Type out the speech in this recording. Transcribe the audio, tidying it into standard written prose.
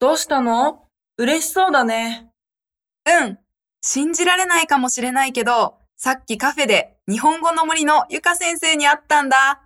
どうしたの？嬉しそうだね。 うん。信じられないかもしれないけど、さっきカフェで日本語の森のゆか先生に会ったんだ。